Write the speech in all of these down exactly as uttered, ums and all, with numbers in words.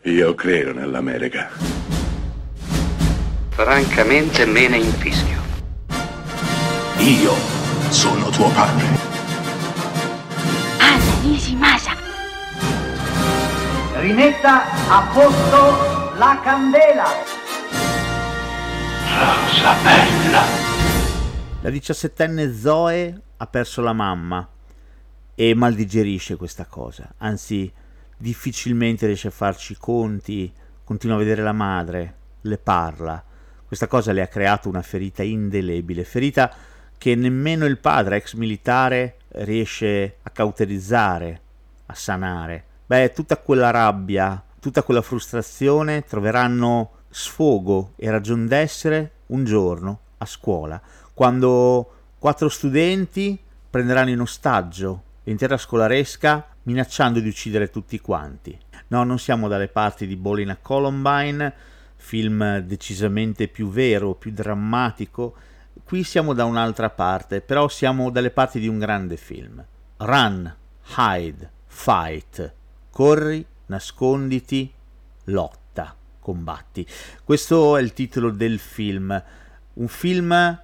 Io credo nell'America. Francamente me ne infischio. Io sono tuo padre. Anna Nishimasa. Rimetta a posto la candela. Rosa bella. La diciassettenne Zoe ha perso la mamma e mal digerisce questa cosa, anzi difficilmente riesce a farci i conti, continua a vedere la madre, le parla. Questa cosa le ha creato una ferita indelebile, ferita che nemmeno il padre, ex militare, riesce a cauterizzare, a sanare. Beh, tutta quella rabbia, tutta quella frustrazione troveranno sfogo e ragion d'essere un giorno a scuola, quando quattro studenti prenderanno in ostaggio l'intera scolaresca minacciando di uccidere tutti quanti. No, non siamo dalle parti di Bowling a Columbine, film decisamente più vero, più drammatico. Qui siamo da un'altra parte, però siamo dalle parti di un grande film. Run, hide, fight. Corri, nasconditi, lotta, combatti. Questo è il titolo del film. Un film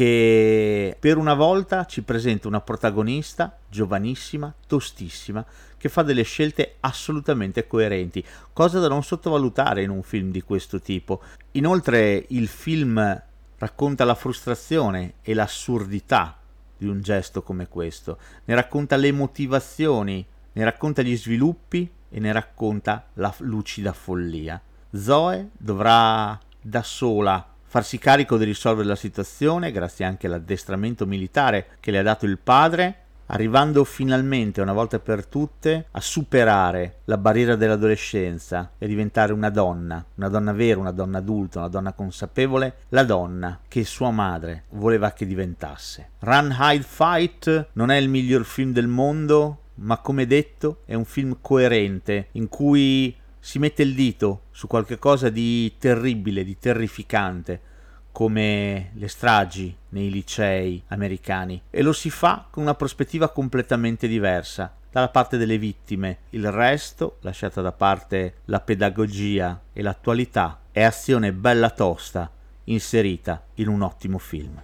che per una volta ci presenta una protagonista giovanissima, tostissima, che fa delle scelte assolutamente coerenti, cosa da non sottovalutare in un film di questo tipo. Inoltre il film racconta la frustrazione e l'assurdità di un gesto come questo, ne racconta le motivazioni, ne racconta gli sviluppi e ne racconta la lucida follia. Zoe dovrà da sola farsi carico di risolvere la situazione, grazie anche all'addestramento militare che le ha dato il padre, arrivando finalmente, una volta per tutte, a superare la barriera dell'adolescenza e a diventare una donna, una donna vera, una donna adulta, una donna consapevole, la donna che sua madre voleva che diventasse. Run, Hide, Fight non è il miglior film del mondo, ma come detto è un film coerente, in cui si mette il dito su qualche cosa di terribile, di terrificante, come le stragi nei licei americani, e lo si fa con una prospettiva completamente diversa, dalla parte delle vittime. Il resto, lasciata da parte la pedagogia e l'attualità, è azione bella tosta inserita in un ottimo film.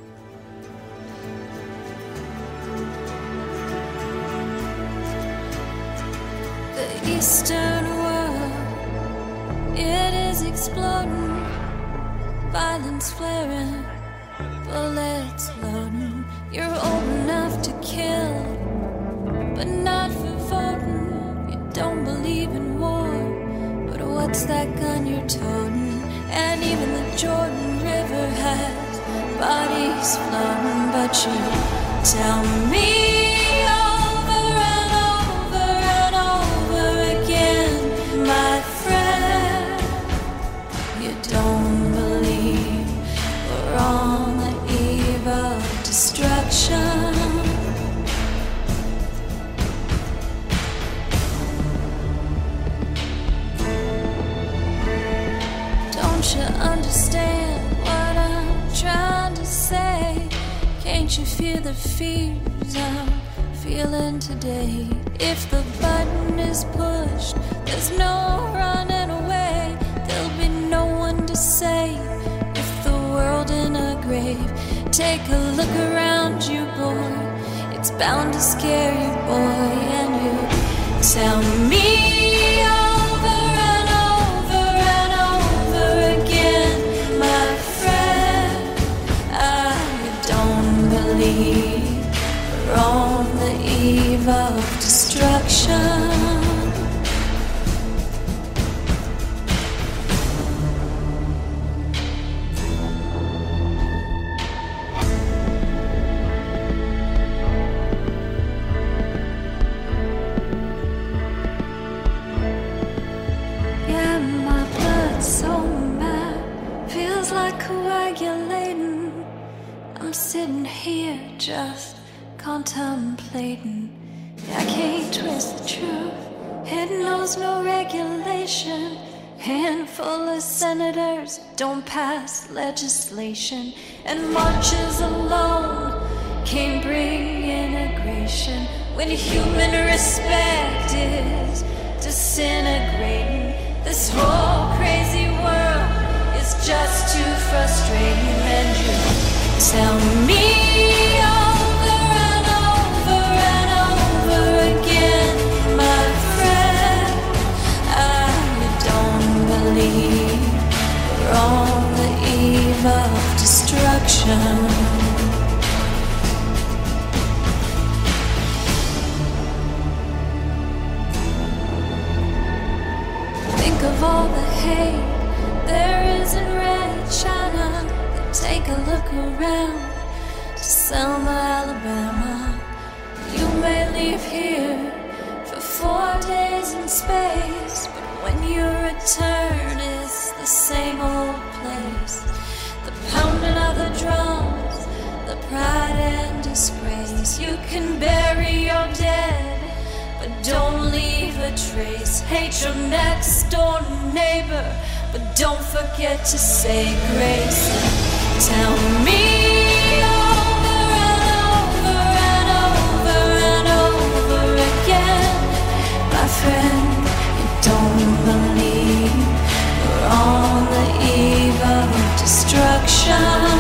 The Eastern world, it is exploding, violence flaring, bullets loading. You're old enough to kill, but not for voting. You don't believe in war, but what's that gun you're toting? And even the Jordan River has bodies floating, but you tell me my friend, you don't believe we're on the eve of destruction. Don't you understand what I'm trying to say? Can't you feel the fears I'm feeling today? If the button is pushed, there's no running away. There'll be no one to save if the world in a grave. Take a look around you, boy. It's bound to scare you, boy. And you tell me over and over and over again, my friend, I don't believe we're on the eve of destruction. Yeah, my blood's so mad, feels like coagulating. I'm sitting here just contemplating. I can't twist the truth. It knows no regulation. Handful of senators don't pass legislation, and marches alone can't bring integration. When human respect is disintegrating, the tell me over and over and over again, my friend, I don't believe we're on the eve of destruction. Think of all the hate there is in Red China. Then take a look around to Selma, Alabama. You may leave here for four days in space, but when you return, it's the same old place. The pounding of the drums, the pride and disgrace. You can bury your dead, but don't leave a trace. Hate your next door neighbor, but don't forget to say grace. Tell me over and over and over and over again, my friend, you don't believe we're on the eve of destruction.